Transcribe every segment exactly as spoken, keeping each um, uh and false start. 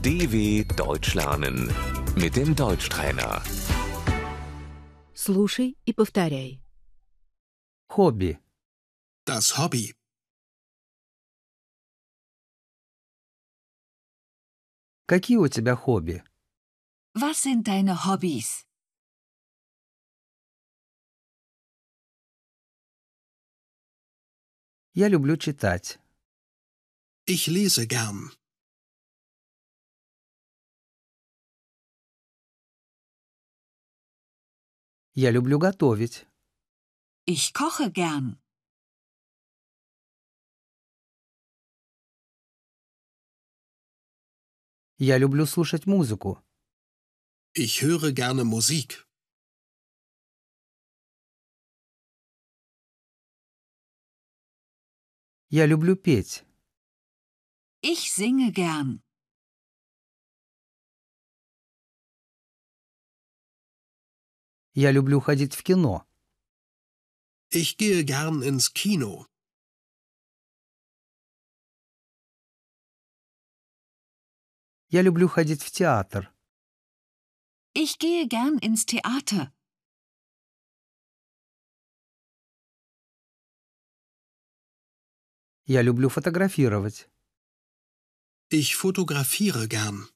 D W Deutsch lernen mit dem Deutschtrainer. Слушай и повторяй. Хобби. Das Hobby. Какие у тебя хобби? Was sind deine Hobbys? Я люблю читать. Ich lese gern. Я люблю готовить. Ich koche gern. Я люблю слушать музыку. Ich höre gerne Musik. Я люблю петь. Ich singe gern. Я люблю ходить в кино. Ich gehe gern ins Kino. Я люблю ходить в театр. Ich gehe gern ins Theater. Я люблю фотографировать. Ich fotografiere gern.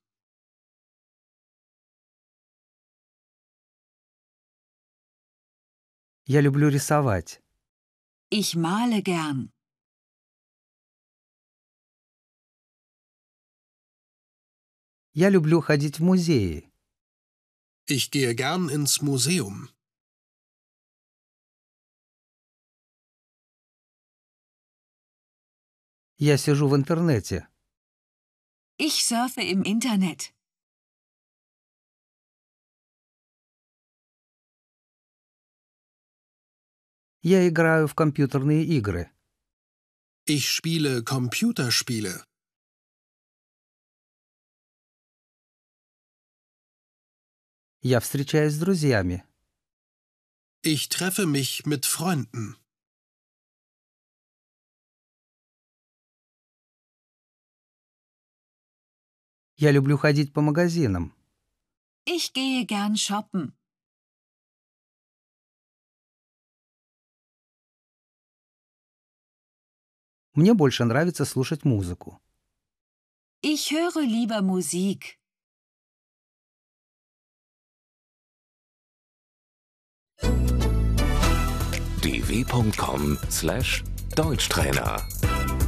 Я люблю рисовать. Ich male gern. Я люблю ходить в музеи. Ich gehe gern ins Museum. Я сижу в интернете. Ich surfe im Internet. Я играю в компьютерные игры. Ich spiele Computerspiele. Я встречаюсь с друзьями. Ich treffe mich mit Freunden. Я люблю ходить по магазинам. Ich gehe gern shoppen. Мне больше нравится слушать музыку. Ich höre lieber Musik. d w punkt com slash Deutschtrainer